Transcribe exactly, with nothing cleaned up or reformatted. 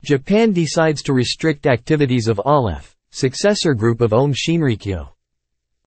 Japan decides to restrict activities of Aleph, successor group of Aum Shinrikyo.